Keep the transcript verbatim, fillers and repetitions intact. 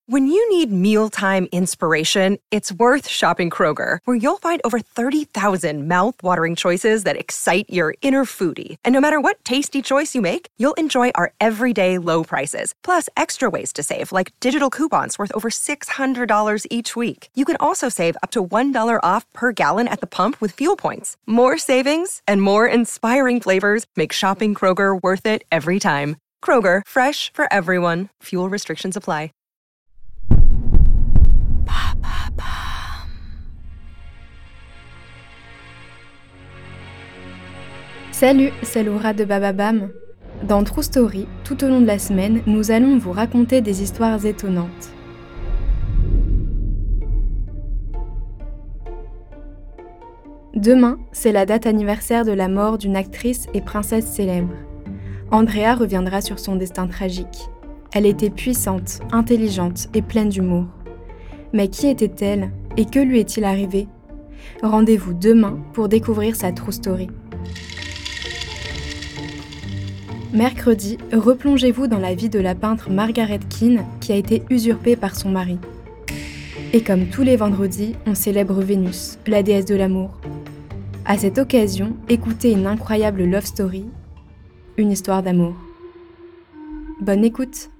When you need mealtime inspiration, it's worth shopping Kroger, where you'll find over thirty thousand mouth-watering choices that excite your inner foodie. And no matter what tasty choice you make, you'll enjoy our everyday low prices, plus extra ways to save, like digital coupons worth over six hundred dollars each week. You can also save up to one dollar off per gallon at the pump with fuel points. More savings and more inspiring flavors make shopping Kroger worth it every time. Kroger, fresh for everyone. Fuel restrictions apply. Salut, c'est Laura de Bababam. Dans True Story, tout au long de la semaine, nous allons vous raconter des histoires étonnantes. Demain, c'est la date anniversaire de la mort d'une actrice et princesse célèbre. Andrea reviendra sur son destin tragique. Elle était puissante, intelligente et pleine d'humour. Mais qui était-elle et que lui est-il arrivé ? Rendez-vous demain pour découvrir sa True Story. Mercredi, replongez-vous dans la vie de la peintre Margaret Keane qui a été usurpée par son mari. Et comme tous les vendredis, on célèbre Vénus, la déesse de l'amour. À cette occasion, écoutez une incroyable love story, une histoire d'amour. Bonne écoute!